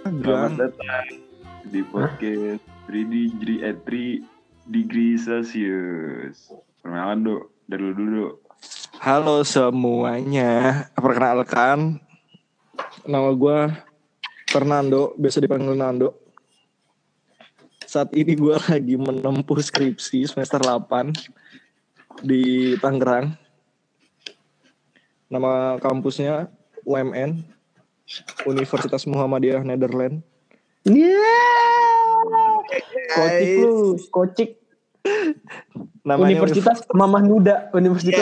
Selamat datang di podcast 3 degree Celsius. Perkenalan dari lu dulu. Halo semuanya, perkenalkan, nama gue Fernando, biasa dipanggil Nando. Saat ini gue lagi menempuh skripsi semester 8 di Tangerang. Nama kampusnya UMN, Universitas Muhammadiyah Nederland. Kocik. Namanya Universitas Mamah Nuda.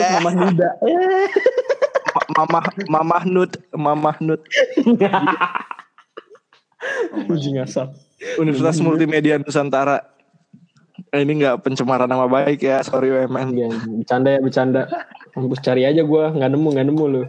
Mamah Nud. Universitas Multimedia Nusantara. Ini nggak pencemaran nama baik ya, sorry UMN. Ya, bercanda. Kampus cari aja gue, nggak nemu lu.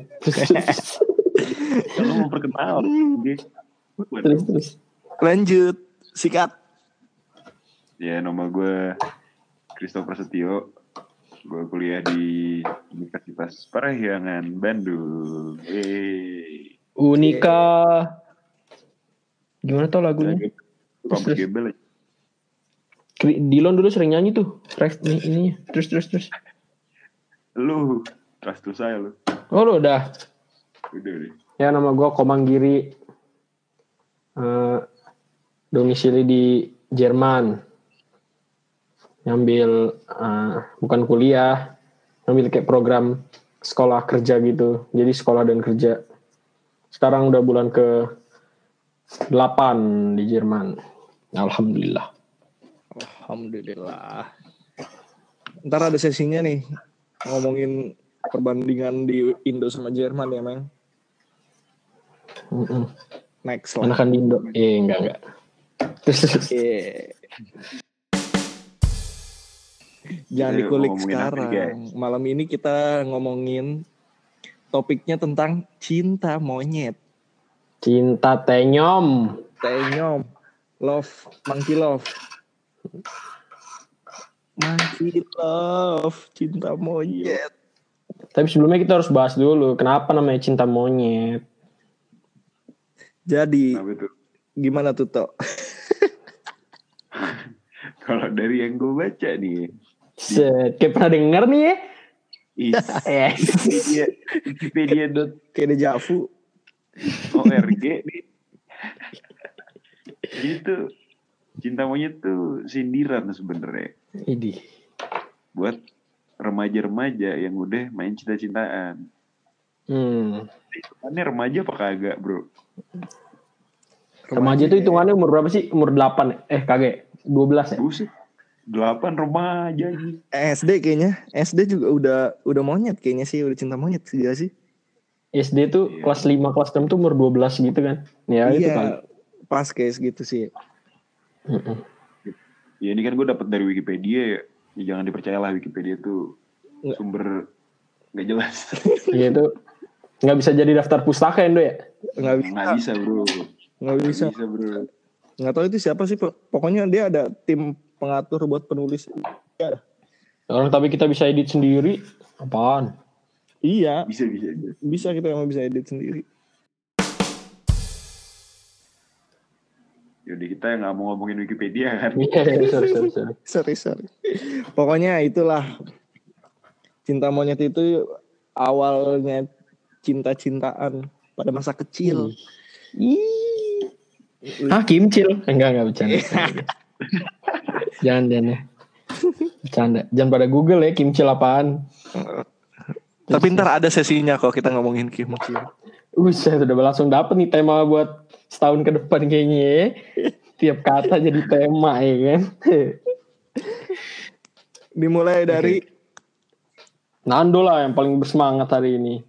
Kalau mau perkenalan, Terus. Lanjut, sikat. Ya, nama gue Christopher Setio. Gue kuliah di Universitas Parahyangan Bandung. Unika. Gimana tau lagunya? Kampus Gebel. Dilon dulu sering nyanyi tuh. Ininya. Terus. Lu, trust saya lu. Oh lu udah. Udah deh. Ya nama gue Komanggiri. Domisili di Jerman. Ngambil bukan kuliah, ngambil kayak program sekolah kerja gitu. Jadi sekolah dan kerja. Sekarang udah bulan ke 8 di Jerman. Alhamdulillah. Ntar ada sesinya nih, ngomongin perbandingan di Indo sama Jerman ya, Meng. Next lah. Anakan di Indo. Enggak. Jangan dikulik sekarang. Malam ini kita ngomongin topiknya tentang cinta monyet. Cinta tenyom. Love, monkey love, cinta monyet. Tapi sebelumnya kita harus bahas dulu kenapa namanya cinta monyet. Jadi gimana tuh Tok? Kalau dari yang gue baca nih, kayak pernah denger nih ya. Wikipedia kayak dejavu. ORG nih. Gitu. Cinta monyet tuh sindiran sebenarnya. Idih. Buat remaja-remaja yang udah main cinta-cintaan. Hitungannya remaja apa kagak, bro? Remaja itu hitungannya umur berapa sih? Umur 8. Kagak. 12 ya? Buset. 8 remaja gitu. SD kayaknya. SD juga udah monyet kayaknya sih. Udah cinta monyet sih. SD tuh kelas 5, kelas 6 tuh umur 12 gitu kan. Ya itu kan. Pas kayak gitu sih. Ya ini kan gue dapat dari Wikipedia ya. Jangan dipercayalah Wikipedia tuh sumber nggak jelas. Iya itu nggak bisa jadi daftar pustaka Indo ya? Nggak bisa bro. Nggak bisa bro. Nggak tahu itu siapa sih. Pokoknya dia ada tim pengatur buat penulis. Ya. Orang tapi kita bisa edit sendiri. Apaan? Iya. Bisa kita emang bisa edit sendiri. Yaudah kita nggak mau ngomongin Wikipedia kan? Iya, sorry. Pokoknya itulah cinta monyet itu awalnya cinta-cintaan pada masa kecil. Kimcil? Enggak bercanda. Jangan ya. Bercanda. Jangan pada Google ya Kimcil apaan. Tapi ntar ada sesinya kok kita ngomongin kimcil. Saya udah langsung dapet nih tema buat setahun ke depan kayaknya ya. Tiap kata jadi tema ya kan. Dimulai dari Nando lah yang paling bersemangat hari ini.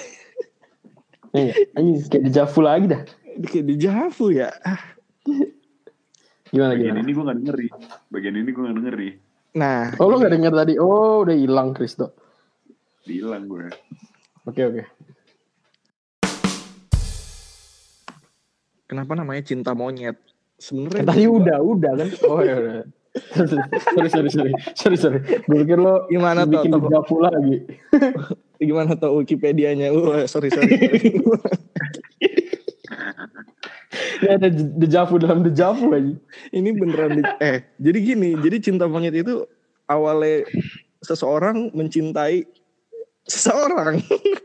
Anjing kayak dejavu lagi dah. Kayak dejavu ya. Gimana? Bagian ini gue gak denger nih. Nah. Oh lu gak denger tadi? Oh udah hilang Kristo. Hilang gue. Oke. Kenapa namanya cinta monyet? Sebenarnya tadi udah kan. Oh ya udah. Sorry. Gue pikir lo gimana bikin dejavu lagi. Gimana tuh Wikipedianya? Sorry. Ini ada dejavu dalam dejavu aja. Ini beneran jadi gini, jadi cinta monyet itu awalnya seseorang mencintai seseorang.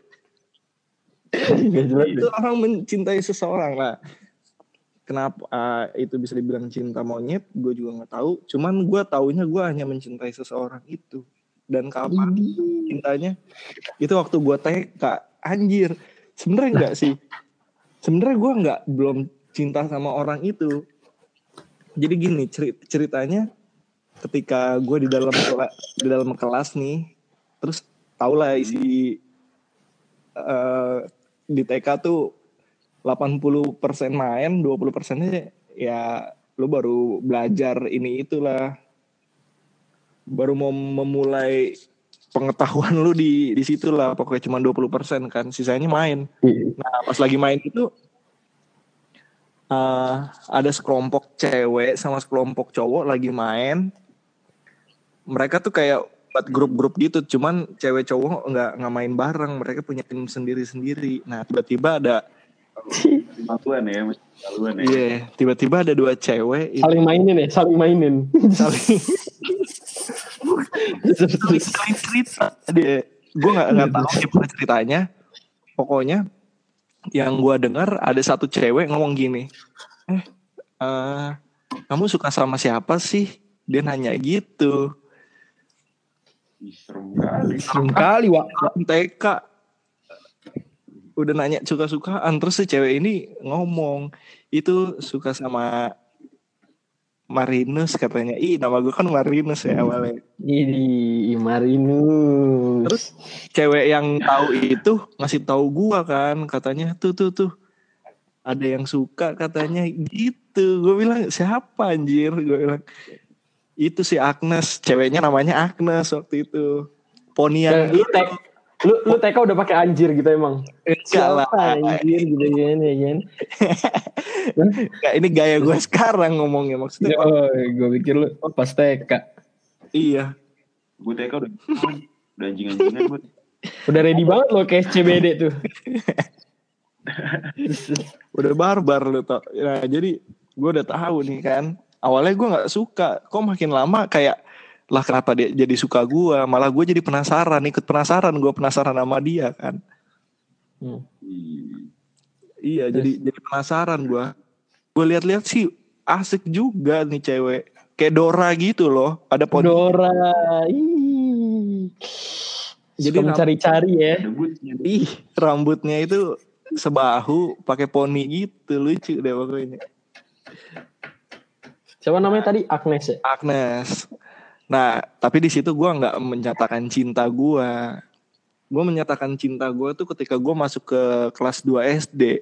Gak jelas Itu orang mencintai seseorang lah. Kenapa itu bisa dibilang cinta monyet? Gue juga nggak tahu. Cuman gue taunya gue hanya mencintai seseorang itu. Dan kapan cintanya? Itu waktu gue TK. Anjir. Sebenarnya enggak sih. Sebenarnya gue belum cinta sama orang itu. Jadi gini ceritanya, ketika gue di dalam kelas nih, terus tau lah isi di TK tuh 80% main, 20%-nya ya lu baru belajar ini itulah. Baru mau memulai pengetahuan lu di situ lah, pokoknya cuma 20% kan, sisanya main. Nah, pas lagi main itu ada sekelompok cewek sama sekelompok cowok lagi main. Mereka tuh kayak buat grup-grup gitu, cuman cewek cowok nggak main bareng, mereka punya tim sendiri-sendiri. Nah, tiba-tiba ada Maluan ya. Iya, tiba-tiba ada dua cewek saling mainin. saling cerita. Gue nggak tahu gimana ceritanya. Pokoknya yang gue dengar ada satu cewek ngomong gini, kamu suka sama siapa sih? Dia nanya gitu. Serem kali Wak. TK udah nanya suka-sukaan, terus si cewek ini ngomong itu suka sama Marinus katanya. Nama gue kan Marinus ya awalnya. Ini Marinus. Terus cewek yang tahu itu ngasih tahu gue kan, katanya tuh ada yang suka katanya gitu. Gue bilang siapa anjir? Gue bilang itu si Agnes, ceweknya namanya Agnes waktu itu. Ponian gitu. Lu TK udah pakai anjir gitu emang? Siapa anjir gitu kan ya kan? Nggak, ini gaya gue sekarang ngomongnya maksudnya. Gue pikir lu pas TK. Iya. Gue TK udah anjing-anjingan gue. Udah ready banget lo kayak CBD tuh. Udah barbar lu tau. Nah jadi gue udah tahu nih kan. Awalnya gue nggak suka. Kok makin lama kayak lah kenapa dia jadi suka gue, malah gue jadi penasaran, ikut penasaran, gue penasaran sama dia kan. Iya, jadi penasaran gue lihat-lihat sih asik juga nih cewek, kayak Dora gitu loh, ada poni Dora. Jadi mencari-cari ya. Rambutnya itu sebahu, pakai poni gitu, lucu deh pokoknya. Siapa namanya tadi? Agnes ya? Agnes. Nah, tapi di situ gue nggak menyatakan cinta gue. Gue menyatakan cinta gue tuh ketika gue masuk ke kelas 2 SD.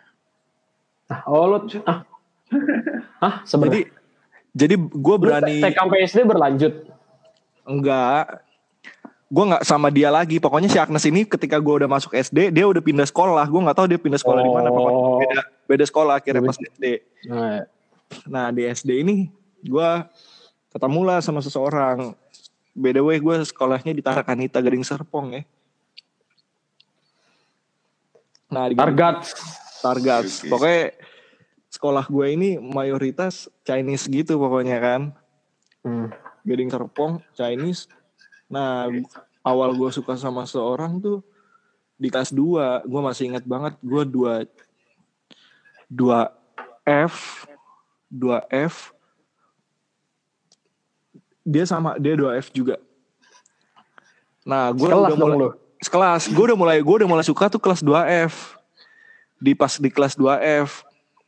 Sebenarnya. Jadi gue berani. TK sampai SD berlanjut? Enggak. Gue nggak sama dia lagi. Pokoknya si Agnes ini ketika gue udah masuk SD, dia udah pindah sekolah. Gue nggak tahu dia pindah sekolah di mana. Pokoknya beda sekolah akhirnya pas SD. Nah di SD ini gue ketemulah sama seseorang. By the way, gue sekolahnya di Tarakanita, Gading Serpong ya. Nah, di Targats. Okay. Pokoknya sekolah gue ini mayoritas Chinese gitu pokoknya kan. Gading Serpong, Chinese. Nah, awal gue suka sama seorang tuh di kelas 2. Gue masih ingat banget, gue 2F. Dia 2F juga. Nah, gue udah mulai sekelas. Gue udah mulai suka tuh kelas 2F. Pas di kelas 2F.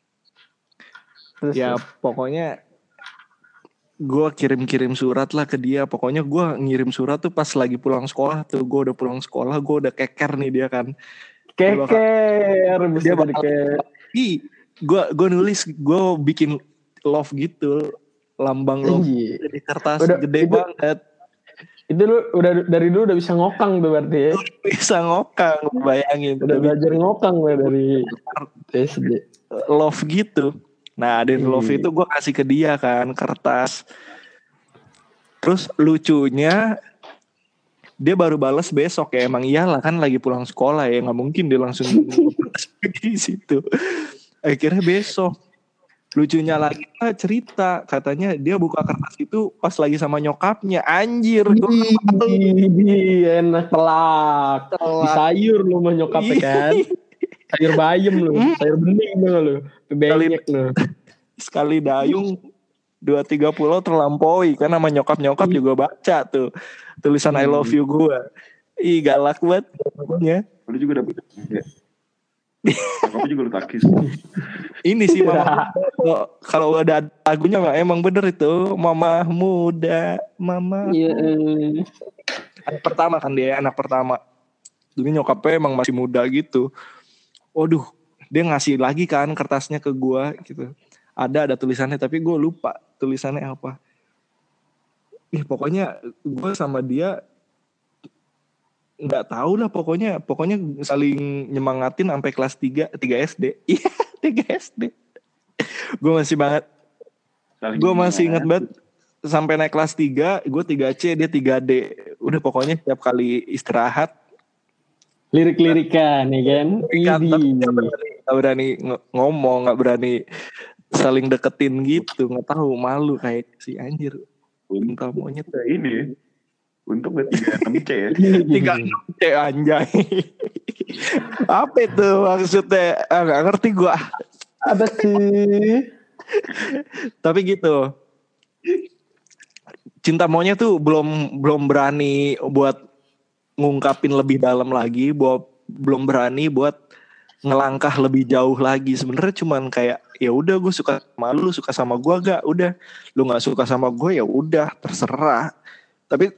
Ya pokoknya gue kirim surat lah ke dia. Pokoknya gue ngirim surat tuh pas lagi pulang sekolah tuh. Gue udah pulang sekolah, gue udah keker nih dia kan. Keker. Dia bakal gue nulis, gue bikin love gitu. Lambang lo di kertas gede banget. Itu lu dari dulu udah bisa ngokang tuh berarti ya? Bisa ngokang, bayangin. Udah belajar ngokang dari SD. Love gitu. Nah dari love itu gue kasih ke dia kan, kertas. Terus lucunya dia baru balas besok ya. Emang iyalah kan lagi pulang sekolah ya, nggak mungkin dia langsung di situ. Akhirnya besok. Lucunya lagi cerita, katanya dia buka kertas itu pas lagi sama nyokapnya. Anjir, gue enak telak. Di sayur lu mah nyokapnya kan. Sayur bayam lu, sayur bening lu. Benyek lu. Sekali dayung 2-3 pulau terlampaui kan sama nyokap juga baca tuh tulisan I love you gue. Ih galak banget pokoknya. Lu juga dapet ya. Nyokapnya juga lu takis. Ini sih mama kalau ada lagunya mah emang bener itu mama muda, mama. Iya. Anak pertama kan dia, anak pertama. Jadi nyokapnya emang masih muda gitu. Waduh, dia ngasih lagi kan kertasnya ke gua gitu. Ada tulisannya tapi gue lupa tulisannya apa. Pokoknya gue sama dia nggak tahu lah pokoknya saling nyemangatin sampai kelas 3 SD. Iya, 3 SD. Gue masih ingat banget sampai naik kelas 3, gue 3C, dia 3D. Udah pokoknya tiap kali istirahat lirik-lirikan ya kan. Gak berani ngomong, gak berani saling deketin gitu, nggak tahu, malu kayak si anjir. Cinta monyet ini untuk gak 36C ya. 36C anjay. Apa itu maksudnya? Nggak ngerti gue. Apa sih? Tapi gitu. Cinta monyet tuh belum berani buat ngungkapin lebih dalam lagi, belum berani buat ngelangkah lebih jauh lagi. Sebenarnya cuman kayak ya udah gue suka sama lu, suka sama gue gak, udah lu nggak suka sama gue ya udah terserah. Tapi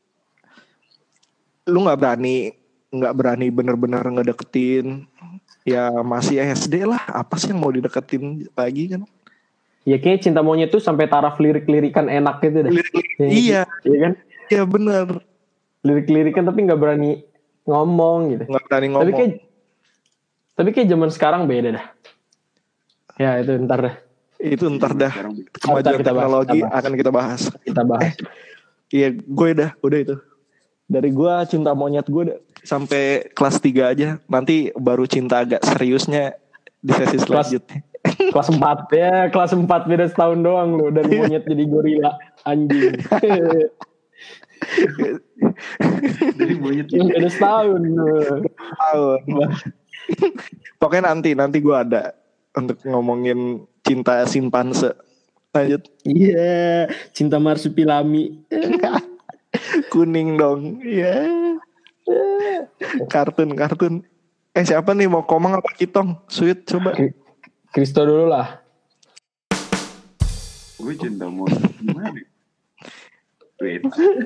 lu nggak berani bener-bener ngedeketin. Ya masih SD lah, apa sih yang mau dideketin lagi kan? Ya kayak cinta monyet tuh sampai taraf lirik-lirikan enak gitu dah. Iya kan? Iya benar. Lirik-lirikan tapi nggak berani ngomong gitu. Nggak berani ngomong. Tapi kayak zaman sekarang beda dah. Ya itu ntar dah. Kemajuan teknologi akan kita bahas. Iya, gue udah itu. Dari gue cinta monyet gue sampai kelas 3 aja. Nanti baru cinta agak seriusnya di sesi selanjutnya. Kelas 4 ya, kelas 4 beda setahun doang loh. Dari monyet jadi gorila, anjing. Dari monyet beda setahun. Pokoknya nanti gue ada untuk ngomongin cinta simpanse. Lanjut. Iya, cinta marsupilami. Kuning dong. Iya. Kartun. Siapa nih mau Komang apa Kitong? Sweet coba. Kristo dulu lah. Gue cinta monyet gimana? Wait.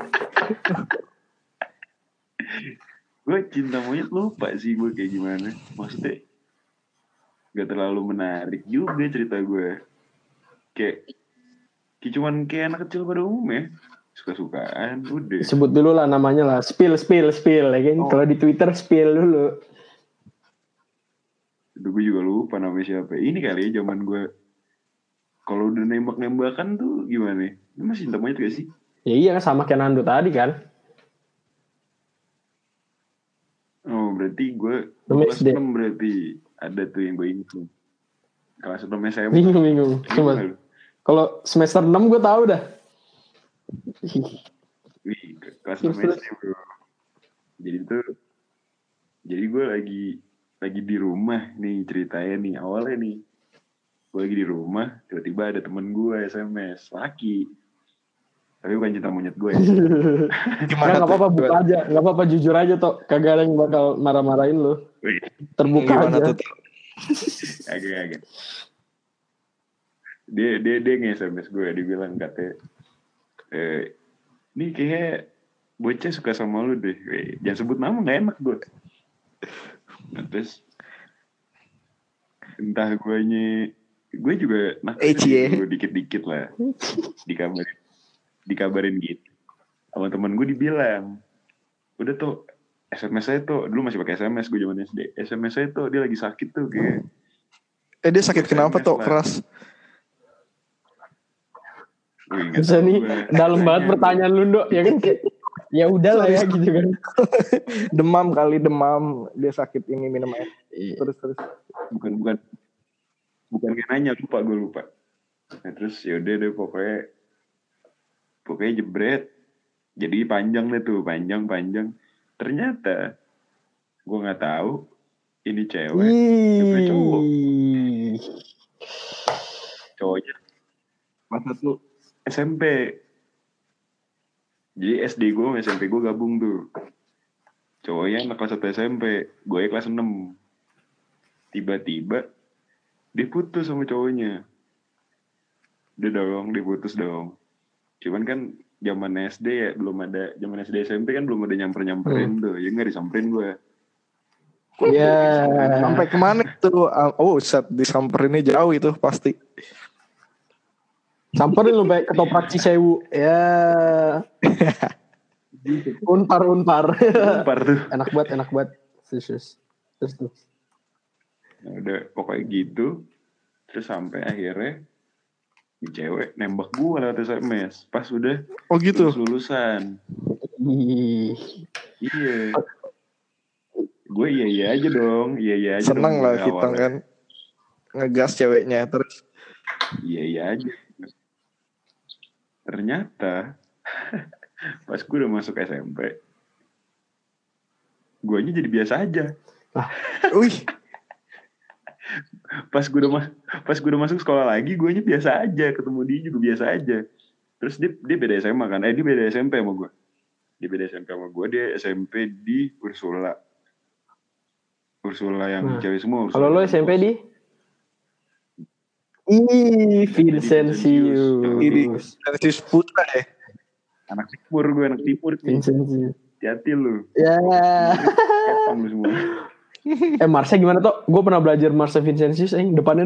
Gue cinta monyet lupa sih gue kayak gimana. Maksudnya gak terlalu menarik juga cerita gue. Kayak cuman kayak anak kecil pada umumnya. Suka-sukaan udah. Sebut dulu lah namanya lah. Spill ya kan. Kalau di Twitter spill dulu. Itu gue juga lupa namanya siapa. Ini kali ya zaman gue kalau udah nembak-nembakan tuh gimana? Ini masih cinta monyet gak sih? Ya iya sama kayak Nando tadi kan. Oh berarti gue kelas 6 berarti ada tuh yang gue ingat tuh. Kelas 6 SMA. Bingung. Kalau semester 6 gue tahu dah. Wih, kelas 6 SD bro. Jadi gue lagi di rumah nih ceritanya nih. Awalnya nih gue lagi di rumah, tiba-tiba ada temen gue SMS laki. Tapi bukan cinta monyet gue ya. Gimana? Gak apa-apa buka aja. Gak apa-apa jujur aja toh. Kagak ada yang bakal marah-marahin lo. Terbuka gimana aja. Agak. Dia nge-SMS gue. Dia bilang katanya ini kayaknya bocah suka sama lu deh. Jangan sebut nama gak enak gue. Nah, terus entah gue juga gue dikit-dikit lah dikabarin gitu sama temen gue, dibilang udah tuh SMS saya tuh dulu masih pakai SMS gue zaman SD. SMS saya tuh dia lagi sakit tuh kayak dia sakit kenapa tuh keras. Bisa nih dalam banget pertanyaan lu Dok ya kan. Ya udahlah ya gitu kan. demam dia sakit ini minum air. Terus bukan bukan kayak nanya, gue lupa. Nah terus yaudah deh pokoknya jebret. Jadi panjang deh tuh, panjang. Ternyata gue nggak tahu ini cewek cowok. Cowoknya masa tuh SMP. Jadi SD gue sama SMP gue gabung tuh. Cowoknya anak kelas 1 SMP, gue kelas 6. Tiba-tiba dia putus sama cowoknya. Dia putus dong. Cuman kan zaman SD ya belum ada, zaman SD SMP kan belum ada nyamperin tuh. Ya nggak disamperin gue. Ya. Sampai kemana tuh? Oh, set disamperinnya jauh itu pasti. Samperin lu baik ketoprak Cisewu. Ya. Unpar. Unpar tuh. Enak banget. Terus tuh. Nah, udah pokoknya gitu. Terus sampai akhirnya di cewek nembak gue lewat SMS. Pas udah lulusan. Iya. Gue iya aja dong. Iya aja. Seneng lah kita kan ngegas ceweknya terus. Iya aja. Ternyata pas gue udah masuk SMP, guanya jadi biasa aja. Wih. Pas gue udah masuk sekolah lagi, guanya biasa aja, ketemu dia juga biasa aja. Terus dia beda SMA kan? Dia beda SMP sama gue. Dia SMP di Ursula yang cewek semua. Kalau lo SMP di? Vincentius Putra ya? Anak timur Vincentius. Hati-hati lu. Ya. Ketong lu semua. Marsnya gimana toh? Gue pernah belajar Marsnya Vincentius. Depannya.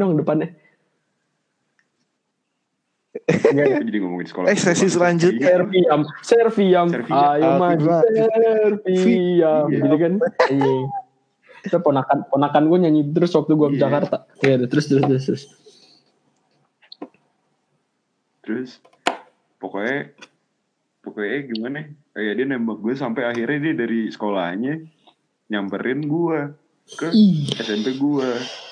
Jadi ngomongin sekolah. Sesi selanjutnya. Serviam. Ayo maju Serviam. Gitu kan? Itu ponakan gue nyanyi terus waktu gue ke Jakarta. Iya, terus. Terus pokoknya gimana? Kayak dia nembak gue sampai akhirnya dia dari sekolahnya nyamperin gue ke SMP gue.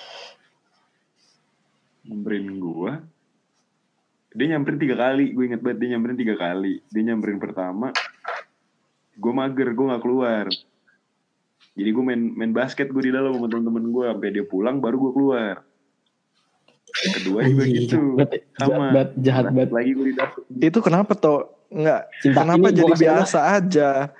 Dia nyamperin 3 kali. Gue inget banget dia nyamperin 3 kali. Dia nyamperin pertama, gue mager, gue gak keluar. Jadi gue main basket gue di dalam sama temen-temen gue. Sampai dia pulang baru gue keluar. Kedua juga gitu. Sama. Jahat banget. Lagi gue di dalam. Itu kenapa toh? Enggak. Kenapa jadi biasa aja?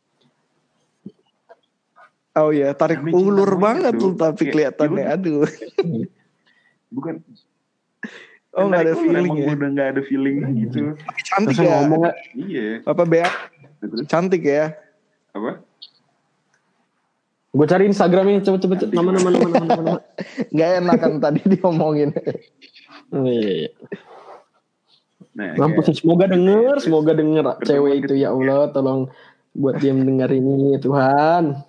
Oh ya, tarik ulur banget tuh tapi kelihatannya. Aduh. Bukan. Oh nggak ada feeling ya? Udah nggak ada feeling gitu. Cantik ya? Iya. Apa Bea? Cantik ya? Apa? Gue cari Instagramnya cepet. Nama. Gak enak kan tadi diomongin. Iya. Nah, semoga denger cewek itu ya Allah, tolong buat dia mendengar ini Tuhan.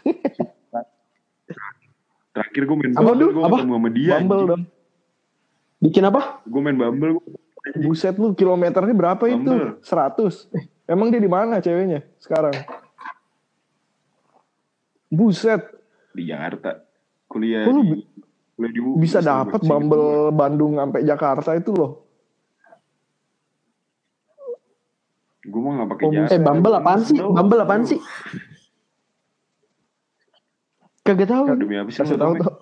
Terakhir gue main Bumble, gue ketemu sama dia. Bumble dong. Bikin apa? Gue main Bumble. Buset lu, kilometernya berapa Bumble. itu? 100. Emang dia di mana ceweknya sekarang? Buset. Di Jakarta. Kuliah di bisa dapat Bumble Bandung sampai Jakarta itu loh. Gue mah gak pakai jasa. Bumble apaan sih? Kagak tahu. Demi apa sih? Kasih tahu tuh.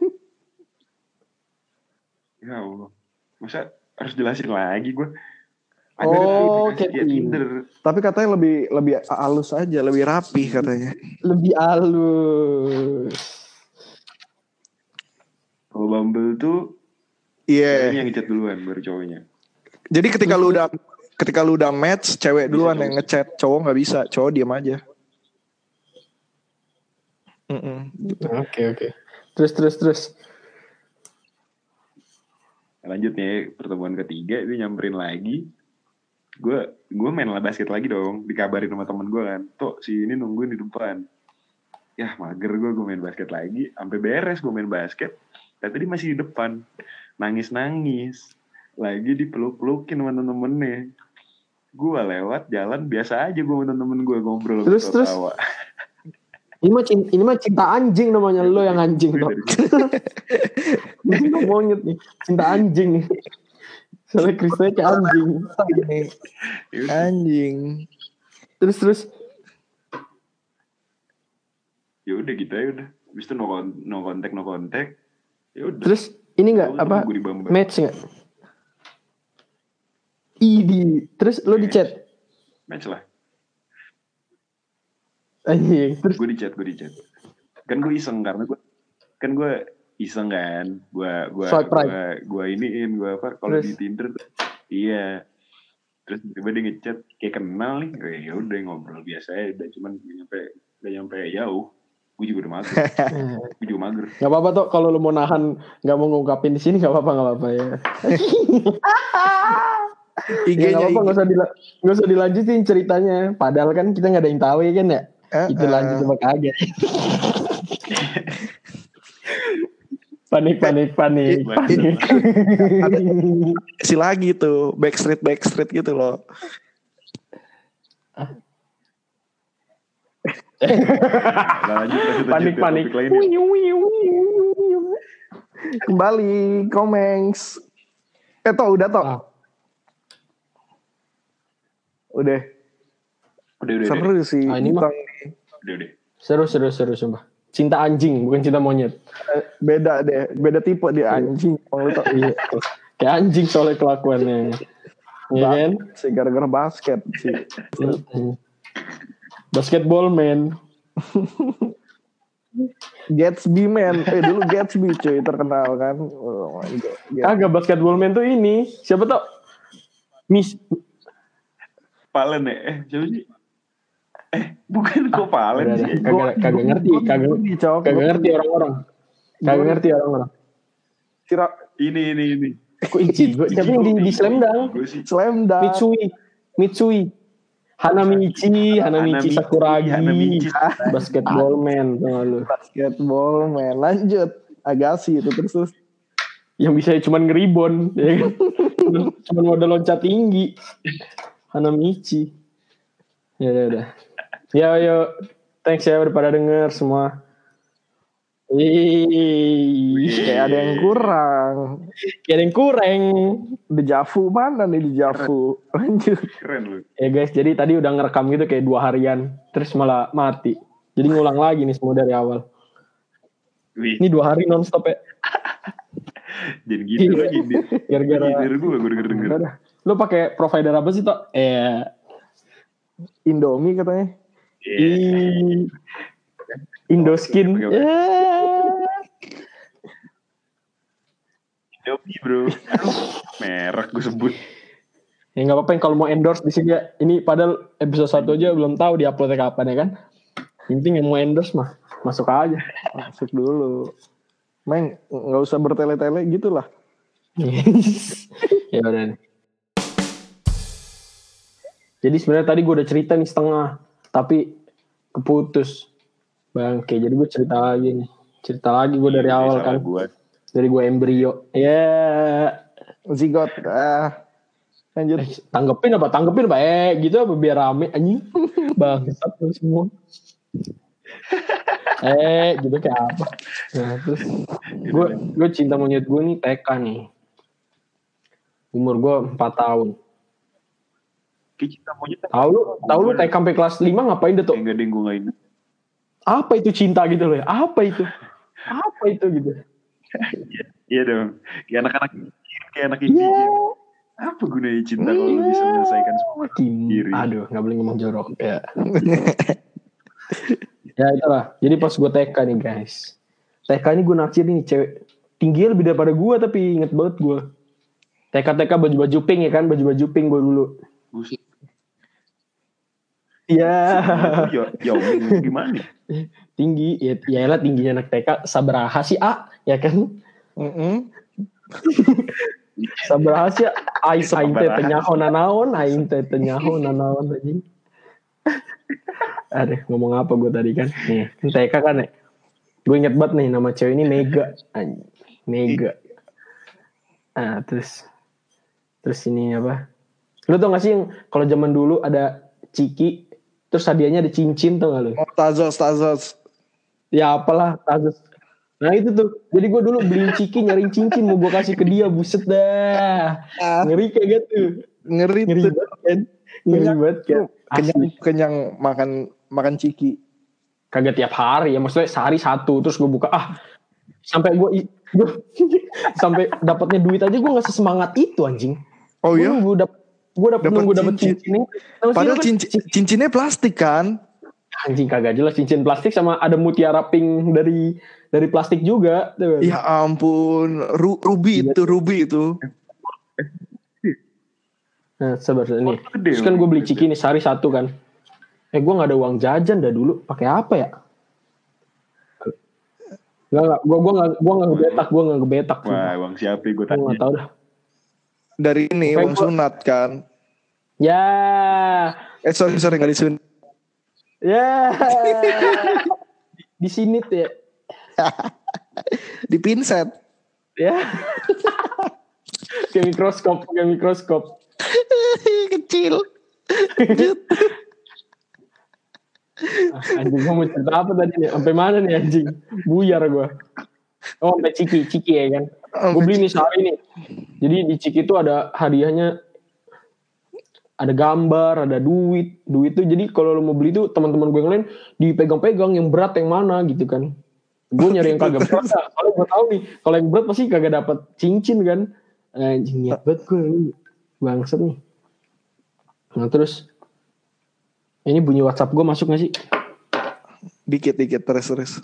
Ya Allah. Masa harus jelasin lagi gue? Kayak Tinder. Tapi katanya lebih halus aja, lebih rapi katanya. Lebih halus. Kalau Bumble tuh ceweknya yang ngechat duluan baru cowoknya. Jadi ketika lu udah match, cewek duluan yang ngechat, cowok nggak bisa, cowok diam aja. Oke. Terus. Lanjut nih, pertemuan ketiga dia nyamperin lagi. Gue main basket lagi dong, dikabarin sama temen gue kan. Tuh si ini nungguin di depan. Ya mager gue main basket lagi. Sampai beres gue main basket. Tapi dia masih di depan. Nangis. Lagi dipeluk-pelukin sama temen-temennya. Gue lewat jalan biasa aja gue sama temen gue ngobrol. Terus. Ini mah cinta anjing namanya, lo yang anjing Gue toh. dari situ. Ini cinta monyet nih, cinta anjing nih. Soalnya Krisnya kayak anjing. Ya udah. Anjing. Terus Ya udah gitu ya udah. Habis itu no kontak. Ya udah. terus ini nggak Tahu-tahu apa gue di Bamba. match nggak? Terus lo di chat? Match lah. Anjing. Terus Gue di chat. Kan gue iseng karena gue iseng kan. Swipe right. Gue iniin gue apa kalau Terus? di Tinder tuh. Iya. Terus tiba dia ngechat kayak kenal nih. Ya udah ngobrol biasa ya udah cuman gak nyampe jauh. Gue juga udah mager. Gue juga mager. nggak apa-apa toh kalau lo mau nahan nggak mau ngungkapin di sini nggak apa-apa ya. Ya nggak apa-apa nggak usah dilanjutin ceritanya. Padahal kan kita nggak ada yang tahu ya kan ya. Itu lanjut sama kagak. Panik. Si lagi tuh backstreet gitu loh. Nah, lanjut Panik. topik lainnya. Kembali Komengs. Udah toh. Udah. Seru sih. Ini mah Udah. seru sumpah. Cinta anjing bukan cinta monyet. Beda tipe dia anjing. Iya. Kayak anjing soalnya kelakuannya. Iya kan? Si gara-gara basket sih. Basketball man. Gatsby man. Dulu Gatsby cuy terkenal kan. Oh my God. Kagak basketball man tuh ini. Siapa tau? Miss Palen ya? Siapa sih? Bukan kok Palen sih. Kagak ngerti orang-orang. Kagak ngerti orang-orang. Ini. Kok Ichigo? Siapa yang di Slam Dunk? Gue sih. Slam Dunk. Mitsui. Hanamichi Sakuragi. Hanamichi. Basketball man. Basketball man. Lanjut. Agassi itu terus. Yang bisa cuman ngeribon. Ya kan? Cuman modal loncat tinggi. Hanamichi. Ya udah. Yo. Thanks ya udah pada denger semua. Kayak ada yang kurang. Dejavu mana nih Dejavu? Lanjut. Keren lu. Ya guys, jadi tadi udah ngerekam gitu kayak 2 harian, terus malah mati. Jadi ngulang lagi nih semua dari awal. Wih. Ini 2 hari nonstop ya. Jadi gitu lagi dia. Gara-gara gue denger. Lu pakai provider apa sih toh? Indomie katanya. Indoskin. Indomie bro. Merek gue sebut. Ya nggak apa-apa kalau mau endorse di sini ya. Ini padahal episode 1 aja belum tahu di uploadnya kapan ya kan. Yang penting yang mau endorse mah masuk aja. Masuk dulu. Main nggak usah bertele-tele gitulah. Ya udah nih. Jadi sebenarnya tadi gue udah cerita nih setengah, tapi keputus. Bangke, jadi gue cerita lagi nih. Cerita lagi gue dari awal kan. Dari gue embrio. Zigot. Lanjut. Tanggepin apa gitu apa biar rame anjing. Bangsat semua. Gitu kayak apa. Nah terus gue cinta monyet gue nih TK nih. Umur gue 4 tahun. Tahu lu TK sampai kelas 5 ngapain deh tuh? Enggak deh gue gak ingat. Apa itu cinta gitu loh ya? Apa itu gitu. Iya dong. Kayak anak ini. Apa gunanya cinta kalau lu bisa menyelesaikan semua diri? Aduh, gak boleh ngomong jorok ya. Ya itulah. Jadi pas gue TK nih guys. TK ini gue naksir nih cewek. Tingginya lebih daripada gue tapi inget banget gue. TK baju-baju pink ya kan. Baju-baju pink gue dulu. Iya. Ya gimana? Tinggi. Ya lah tingginya anak TK. Sabaraha sih ya kan. Sabaraha sih. Aing teh tenyaho nanaon. Aing teh tenyaho nanaon aja. Aduh ngomong apa gue tadi kan. Nih TK kan ya. Gue inget banget nih nama cewek ini Mega. Nah terus ini apa? Lu tau gak sih yang kalau zaman dulu ada ciki, terus hadiahnya ada cincin tau gak lu? Tazos. Ya apalah kasus. Nah itu tuh. Jadi gue dulu beliin ciki, nyariin cincin mau gue kasih ke dia, buset dah. Ngeri kayak gitu. Ngeri Ngeri tuh. banget kan. Ngeri banget kan. Kenyang makan ciki. Kagak tiap hari ya, maksudnya sehari satu terus gue buka sampai gue sampai dapatnya duit aja gue nggak sesemangat itu anjing. Oh iya. Gue dapet cincin. Padahal cincinnya plastik kan? Anjing kagak jelas, cincin plastik sama ada mutiara pink dari plastik juga. Ya ampun, ruby itu. Nah sabar nih. Terus kan gue beli ciki nih sehari satu kan. Gue nggak ada uang jajan dah dulu. Pakai apa ya? Gue nggak ngebetak. Wah, uang siapa gue tanya. Gue nggak tahu dah. Dari ini uang sunat kan? Ya. Sorry nggak disunat. Ya. Di sini tuh ya. Di pinset. Ya. Kayak mikroskop. Kecil. Anjing gue mau cerita apa tadi nih? Sampai mana nih anjing? Buyar gue. Oh sampai ciki ya kan. Gue beli nih sehari nih. Jadi di ciki itu ada hadiahnya. Ada gambar, ada duit. Duit tuh jadi kalau lo mau beli tuh teman-teman gue yang lain dipegang-pegang yang berat yang mana gitu kan. Gue nyari yang kagak berat. Kalau gue tahu nih, kalau yang berat pasti kagak dapat cincin kan. Anjing niat banget gue. Bangsat nih. Nah terus ini bunyi WhatsApp gue masuk gak sih? Dikit terus.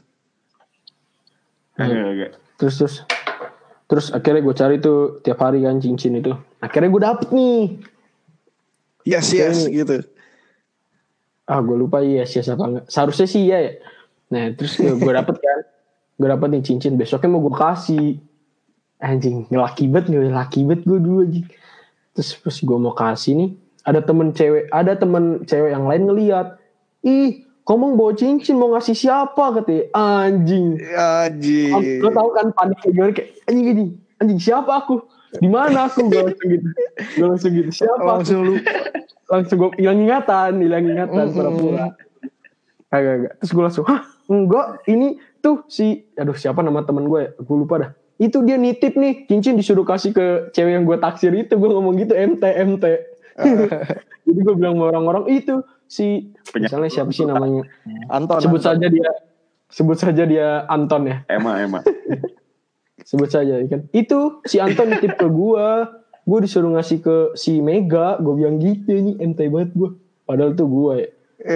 Agak. Terus akhirnya gue cari tuh tiap hari kan cincin itu. Akhirnya gue dapet nih. Yes gitu. Gue lupa yes apa enggak. Seharusnya sih ya. Nah terus gue dapet kan. Gue dapet nih cincin. Besoknya mau gue kasih. Anjing laki bet gue dulu anjing. Terus gue mau kasih nih. Ada temen cewek yang lain ngeliat. Ih, kamu bawa cincin mau ngasih siapa katanya. Anjing. Lo tau kan panik kayak kayak anjing siapa aku? Di mana aku? Gue langsung gitu. Siapa? Langsung gue hilang ingatan pura-pura. Agak. Terus gue langsung, enggak, ini tuh siapa nama temen gue ya? Gue lupa dah. Itu dia nitip nih cincin disuruh kasih ke cewek yang gue taksir itu. Gue ngomong gitu MT. Jadi gue bilang sama orang-orang itu misalnya siapa sih namanya Anton. Sebut saja dia Anton ya. Emma. Sebut saja kan. Itu si Anton nitip ke gue disuruh ngasih ke si Mega. Gue bilang gitu nih MT banget gue. Padahal tuh gue ya.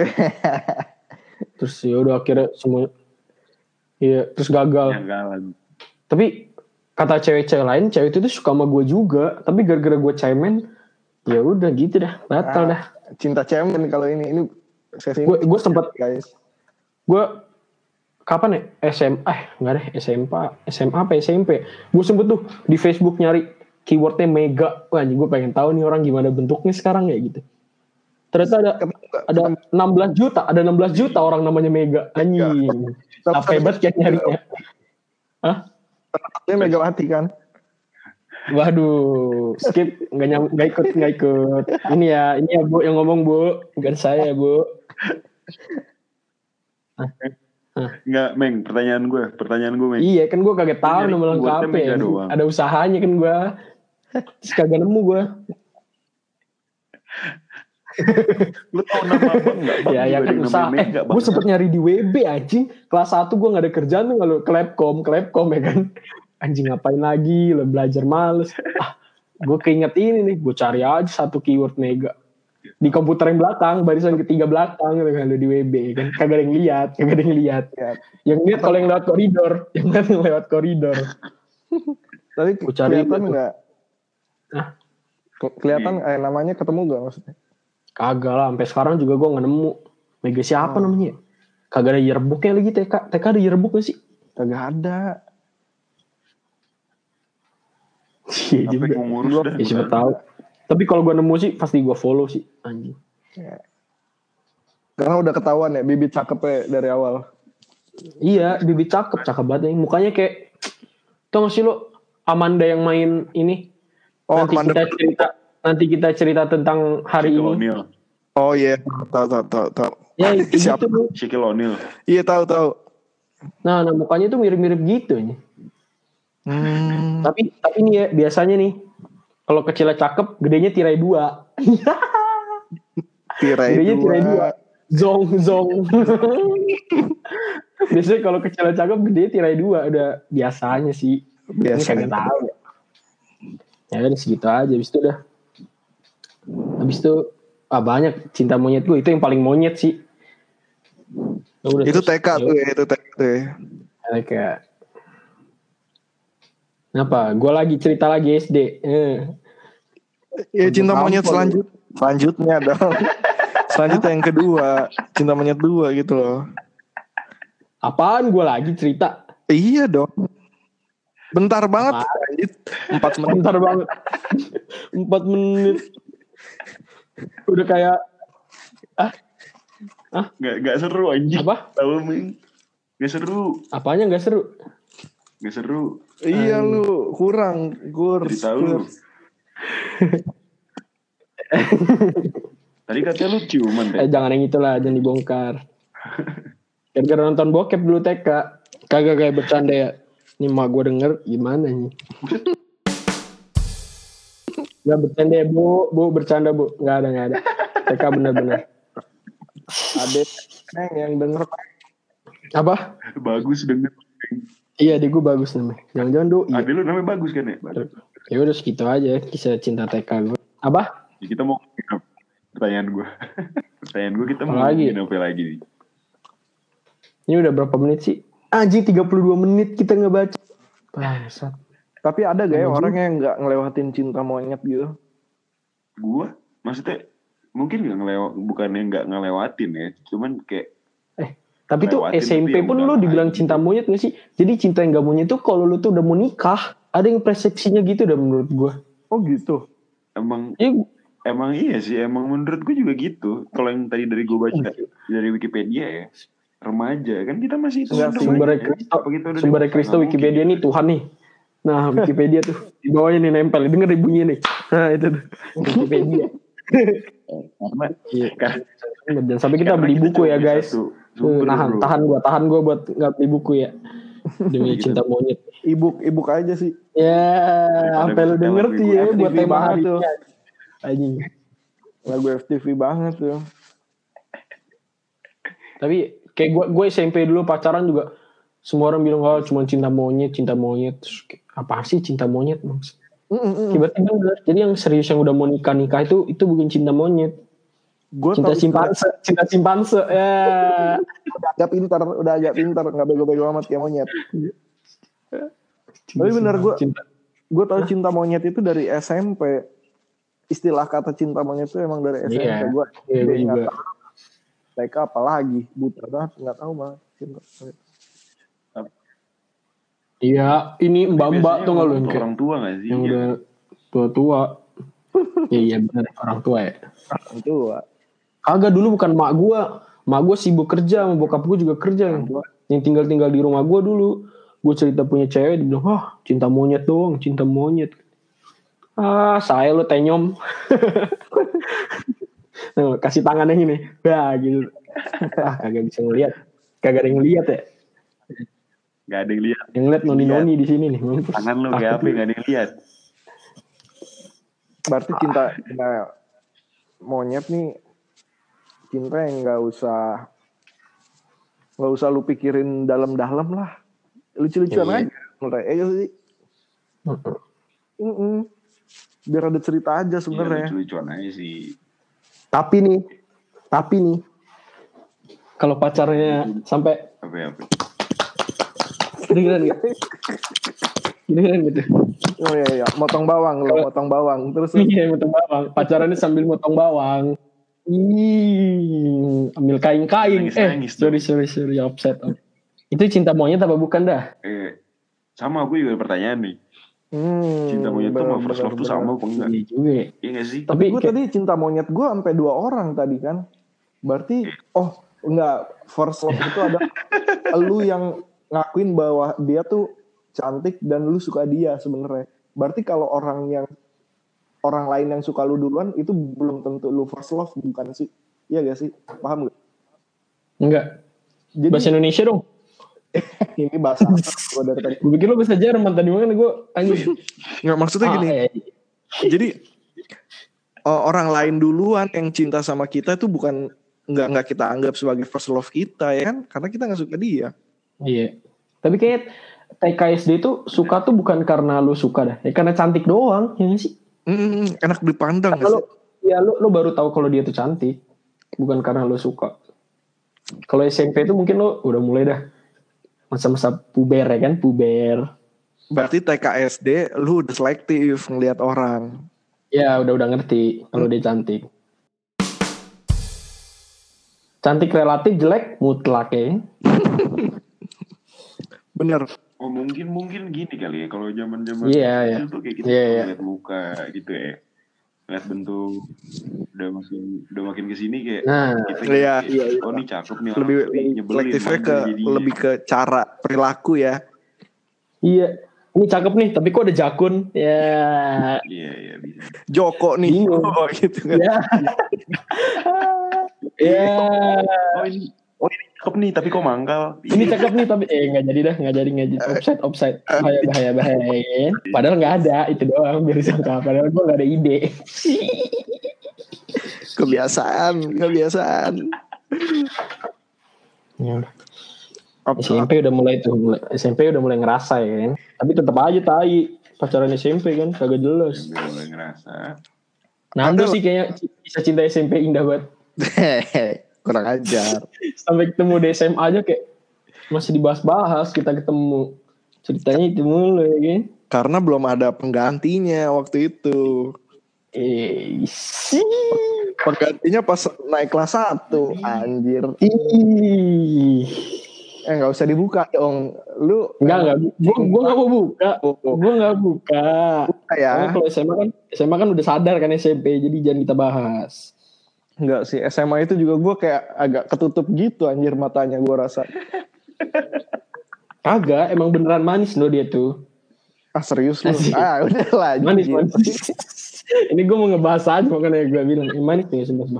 Terus ya udah akhirnya semua terus gagal. Tapi kata cewek-cewek lain, cewek itu tuh suka sama gue juga. Tapi gara-gara gue cemen, ya udah gitu dah, batal dah. Cinta cemen kalau ini gue sempat guys. Gue kapan ya SMA apa SMP. Gue sempet tuh di Facebook nyari keywordnya Mega. Wah, gue pengen tahu nih orang gimana bentuknya sekarang ya gitu. Ternyata ada 16 juta orang namanya Mega. Anjing. Apa hebat kayak nyarinya. Hah? Dia Megawati kan? Waduh, skip nggak ikut. Ini ya Bu yang ngomong Bu, bukan saya Bu. Nggak, Meng, pertanyaan gue, Meng. Iya, kan gue kagak tahu nama lengkapnya. Ada usahanya kan gue. Terus kagak nemu gue. Lu tau nama abang nggak? Ya kan usaha. Gue sempet nyari di WB anjing. Kelas 1 gue nggak ada kerjaan tuh kalau Klepkom ya kan. Anjing ngapain lagi? Lo belajar males. Gue keinget ini nih. Gue cari aja satu keyword Mega di komputer yang belakang, barisan ketiga belakang gitu kan di WB kan. Kagak ada yang lihat. Yang lihat kalau yang lewat koridor. Tapi kelihatan nggak? Kelihatan namanya ketemu nggak maksudnya? Kagak lah, sampai sekarang juga gue nggak nemu. Mega siapa namanya? Kagak ada yearbooknya lagi. TK ada yearbook gak sih? Kagak ada. Iya juga. Ya siapa tahu. Tapi kalau gue nemu sih pasti gue follow sih anjing. Ya. Karena udah ketahuan ya bibit cakepnya dari awal. Iya, bibit cakep banget nih. Mukanya kayak tau gak sih lo Amanda yang main ini? Nanti kita cerita tentang hari Shaquille ini. O'Neal. Oh iya, tahu. Ya, siapa? Gitu. Shaquille O'Neal. Iya tahu. Nah mukanya tuh mirip-mirip gitu nih. Tapi nih ya biasanya nih kalau kecilnya cakep, gedenya tirai 2. Gedenya tirai 2. Zong. Biasanya kalau kecilnya cakep, gedenya tirai 2 udah biasanya sih. Ini kagak tahu ya. Ya kan segitu aja. Habis itu banyak cinta monyet gue itu yang paling monyet sih. Itu TK tuh ya, itu TK tuh ya. Kayak kenapa? Gue lagi cerita lagi SD. Ya cinta monyet selanjutnya dong. Selanjutnya yang kedua, cinta monyet 2 gitu loh. Apaan gue lagi cerita? Iya dong. Bentar banget. 4 menit. Bentar banget. 4 menit. Udah kayak Gak seru anjing. Apa? Tahu Ming? Gak seru. Apanya gak seru? Gak seru. Iya lu kurang Cerita lu. Tadi katanya lu ciuman deh. Jangan yang itulah, jangan dibongkar. Gara-gara nonton bokep dulu TK. Kagak kayak bercanda ya. Ini mak gue denger gimana nih? Gak bercanda ya bu bercanda bu. Gak ada. TK bener-bener. Ada yang denger. Apa? Bagus denger. Iya adek gue bagus namanya. Jangan-jangan doi. Adek lu namanya bagus kan ya? Ya udah segitu aja kisah cinta TK gue. Apa? Ya, kita mau pertanyaan gue. Kita mau ngomongin apa lagi nih? Ini udah berapa menit sih? Anjing 32 menit kita ngebaca. Bangsat. Tapi ada gak ya orang yang gak ngelewatin cinta monyet gitu? Gue? Maksudnya mungkin bukannya gak ngelewatin ya. Cuman kayak tapi tuh SMP pun lu dibilang cinta monyet gak sih? Jadi cinta yang gak monyet tuh kalau lu tuh udah mau nikah. Ada yang persepsinya gitu dah menurut gue. Oh gitu? Emang iya sih. Emang menurut gue juga gitu. Kalau yang tadi dari gue baca dari Wikipedia ya. Remaja. Kan kita masih itu. Sumber Kristo Wikipedia nih Tuhan nih. Nah Wikipedia tuh. Di bawahnya nih nempel. Denger bunyinya nih. Nah itu tuh. Wikipedia. Jangan sampai kita beli buku ya guys. Tahan gue buat nggak beli buku ya demi cinta monyet. Ebook aja sih ya sampai lu denger tuh ya buat tema hari tuh anjing lagu FTV banget tuh. Tapi kayak gue SMP dulu pacaran juga semua orang bilang cuma cinta monyet. Terus, apa sih cinta monyet maksud? Tiba-tiba bener. Jadi yang serius yang udah mau nikah itu bukan cinta monyet. Cinta simpanse ya. udah agak pintar nggak bego-bego amat kayak monyet. Tapi bener gue tahu cinta monyet itu dari SMP. Istilah kata cinta monyet itu emang dari SMP. Gue juga TK apalagi buta banget nggak tahu banget cinta monyet. Iya ini mbak tuh nggak lu orang tua nggak sih yang udah tua iya benar orang tua ya orang tua. Kagak dulu bukan mak gue sibuk kerja, sama bokap gue juga kerja. Yang tinggal di rumah gue dulu. Gue cerita punya cewek, dia bilang, cinta monyet doang, cinta monyet. Saya lo tenyom. Nah, kasih tangannya ini, gitu. Kagak bisa ngeliat, kagak ada yang ngeliat ya. Gak ada yang lihat. Yang ngeliat noni di sini nih. Tangan lo kayak apa? Gak ada yang lihat. Berarti cinta monyet nih. Cinta yang nggak usah lu pikirin dalam-dalam lah, lucu-lucuan aja menurut sih. Biar ada cerita aja sebenarnya. Lucu-lucuan aja sih. Tapi nih kalau pacarnya sampai apa? Gini gitu. Oh iya, motong bawang terus. Iya, motong bawang. Pacarannya sambil motong bawang. Ambil kain-kain. Sorry, offset. Itu cinta monyet apa bukan dah? Sama gue juga pertanyaan nih. Cinta monyet tuh sama first love tuh sama apa enggak? Iya juga. Iya gak sih? Tapi gue tadi cinta monyet gue sampai 2 orang tadi kan. Berarti enggak, first love itu ada lu yang ngakuin bahwa dia tuh cantik dan lu suka dia sebenarnya. Berarti kalau orang lain yang suka lu duluan itu belum tentu lu first love, bukan sih? Iya gak sih? Paham gak? Enggak. Jadi, bahasa Indonesia dong. Ini bahasa apa gue dari tadi. Gue pikir lo bahasa Jerman tadi, makanya gue anjing. Nggak, maksudnya gini. Jadi orang lain duluan yang cinta sama kita itu bukan nggak kita anggap sebagai first love kita ya kan, karena kita nggak suka dia. Iya. Tapi kayak TKSD itu suka tuh bukan karena lu suka dah, ya karena cantik doang, ya gak sih? Enak dipandang nggak sih? Ya lu baru tahu kalau dia tuh cantik, bukan karena lu suka. Kalau SMP itu mungkin lu udah mulai dah masa-masa puber ya kan, puber. Berarti TKSD lu udah selektif ngelihat orang. Ya udah ngerti kalau dia cantik. Cantik relatif, jelek mutlak ya. Bener. Oh mungkin gini kali ya, kalau zaman-zaman Iya. itu tuh kayak kita lihat muka gitu ya, lihat bentuk, udah makin kesini kayak kita iya. Oh ini cakep nih, lebih selektifnya lebih ke cara perilaku ya. Iya, ini cakep nih, tapi kok ada jakun ya. Iya bisa. Joko nih, gitu kan. Ya. Oh ini cakep nih, tapi kok mangkal. Ini cakep nih, tapi nggak jadi. Offside. Bahaya. Padahal nggak ada, itu doang biar disangka. Padahal gue nggak ada ide. Kebiasaan. Ya. SMP udah mulai ngerasa ya kan. Tapi tetap aja tai pacaran SMP kan kagak jelas. Udah mulai ngerasa. Nando sih kayaknya bisa cinta SMP indah banget. Kurang ajar. Sampai ketemu di SMA aja kayak masih dibahas-bahas, kita ketemu ceritanya itu mulu ya kan. Karena belum ada penggantinya waktu itu. Penggantinya pas naik kelas 1, anjir. Gak usah dibuka dong. Lu Enggak. Gue gak mau buka. Gue gak buka. Ya. Kalau SMA kan udah sadar kan SMP, jadi jangan kita bahas. Enggak sih, SMA itu juga gue kayak agak ketutup gitu anjir matanya gue rasa. Kagak, emang beneran manis loh dia tuh. Serius lu? Udah lah. Manis. Ini gue mau ngebahas aja, makanya gue bilang manis nih sumpah.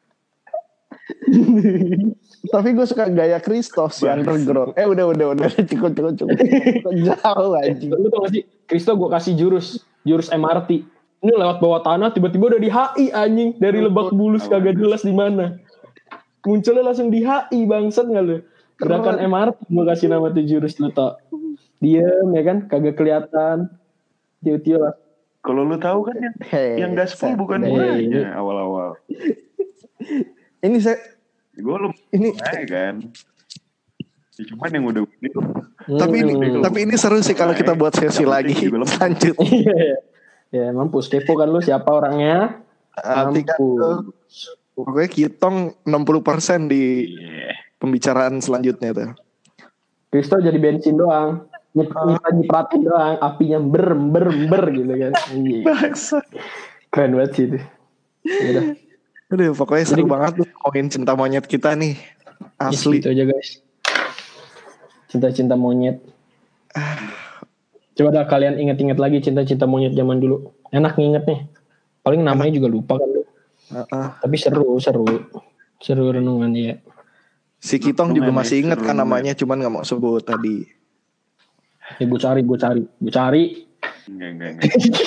Tapi gue suka gaya Christos si underground. Udah cukup. Jauh anjing. Lu tau gak sih, Kristo gue kasih jurus MRT. Ini lewat bawah tanah, tiba-tiba udah di HI anjing. Dari Lebak Bulus kagak jelas di mana. Munculnya langsung di HI, bangsat gak lu? Gerakan MRT gue kasih nama tuh jurus lu tau. Diem ya kan, kagak kelihatan. Tiu-tiu lah. Kalau lu tahu kan yang gaspol bukan gue awal-awal. Ini gue kan. Ya, cuman yang udah gitu. Tapi ini seru sih kalau kita buat sesi lagi. Lanjut. Ya mampus, kepo kan lu siapa orangnya. Mampus. Pokoknya kitong 60% di pembicaraan selanjutnya tuh. Kristo jadi bensin doang. Nyipratin doang, apinya ber gitu kan. Keren banget sih itu. Udah pokoknya seru banget tuh ngomongin cinta monyet kita nih. Asli. Itu aja guys. Cinta-cinta monyet. Coba dah kalian inget-inget lagi cinta-cinta monyet zaman dulu. Enak nginget nih. Paling namanya juga lupa kan lu. Tapi seru renungan ya. Si Kitong juga masih inget kan namanya, cuman gak mau sebut tadi. Ya gue cari. Enggak.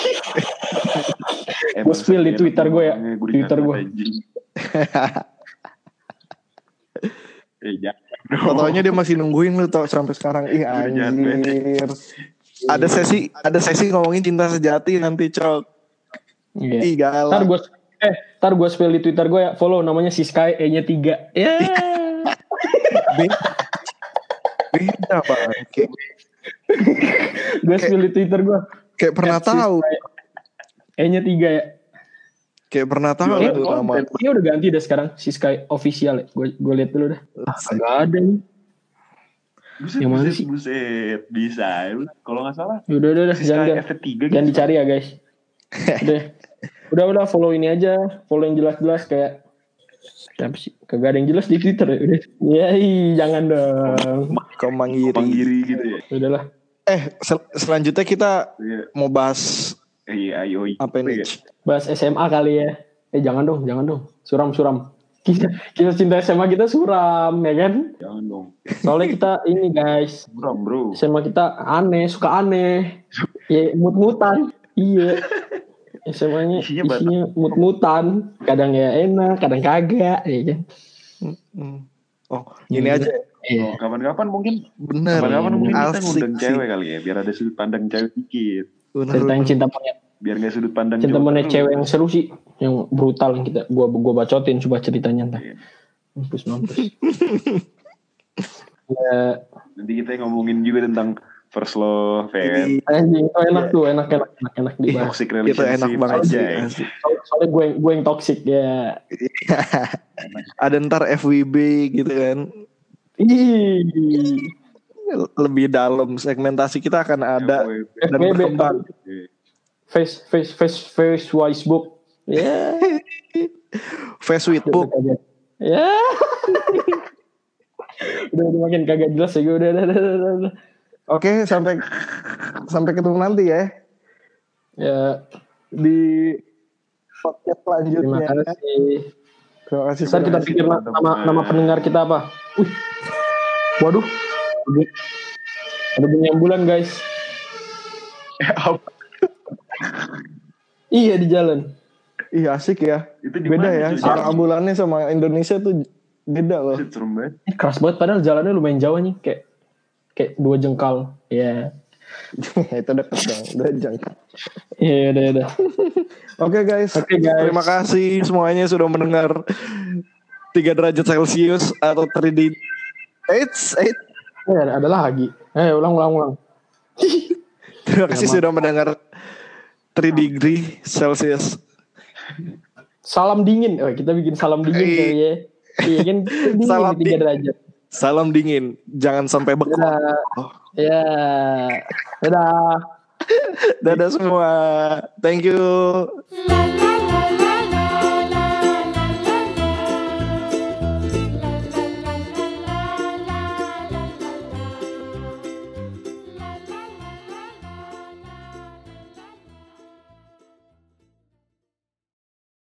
Gue spill di Twitter gue ya. Twitter gue. Fotonya dia masih nungguin lu tau sampai sekarang. Ih anjir. Ada sesi ngomongin cinta sejati nanti cok. Iya. Ih galak. Ntar gue spill di Twitter gue ya. Follow namanya Siskai E-nya 3. Ya. Beda bang. Gue spill di Twitter gue. Kayak pernah tahu. E-nya 3 ya. Kayak pernah tahu itu nama. Ini udah ganti deh sekarang Siskai official ya. Gue lihat dulu dah. Gak ada nih. Yang mana sih? Buset, bisa. Kalau nggak salah. Udah. Jangan dicari ya guys. Udah follow ini aja. Follow yang jelas-jelas kayak. Siapa sih? Kagak ada yang jelas di Twitter ya. Udah. Jangan dong. Komanggiri gitu ya. Udahlah. Selanjutnya kita mau bahas. Ayo. Apa nih? Bahas SMA kali ya. Jangan dong. Suram. Kisah cinta SMA kita suram ya kan. Jangan dong. Soalnya kita ini guys, Bro. SMA kita suka aneh. Ya mut-mutan. Iya. SMA-nya isinya mut-mutan. Kadang ya enak, kadang kagak ya kan. Oh, gini aja. Iya. Kapan-kapan mungkin Bener. kita Asik ngundang sih. cewek kali ya, biar ada sudut pandang cewek dikit. Ceritain cinta monyet. Biar gak sudut pandang Cinta cowok monyet terus. cewek yang seru sih, yang brutal yang gua bacotin coba ceritanya ntar. Iya. Mampus. Ya, Nanti kita ngomongin juga tentang first love, ya kan? anjing itu enak tuh, enak dibahas. Toxic Itu relationship enak banget sih. aja. Asik. Soalnya gue yang toxic ya. Ada ntar FWB gitu kan. Ih, Lebih dalam segmentasi kita akan ada dan FWB, berkembang. face wise book. Ya. Face with book. Ya. udah makin kagak jelas ya gue udah. Oke, sampai ketemu nanti ya Ya, di podcast terima selanjutnya. kasih. Terima kasih. Ntar kita pikir nama pendengar kita apa. Waduh. Ada bunyi ambulan guys. Iya di jalan. Iya asik ya. Itu di Beda mana ya. tuh? Suara ambulannya sama Indonesia tuh beda loh. Serem banget. Ini keras banget padahal jalannya lumayan jauh nih, kayak 2 jengkal. Ya. Itu dekat dong. Udah jangka. Iya udah. Oke guys. Oke, guys. Terima kasih semuanya sudah mendengar 3 derajat Celcius atau 3D. Eits. Ada lagi. Ulang. Terima kasih sudah mendengar 3 degree Celsius. Salam dingin. Kita bikin salam dingin kali ya. Iya kan dingin Salam di 3 derajat. Salam dingin. Jangan sampai beku. Ya. Dadah. Dadah semua. Thank you. La la la la.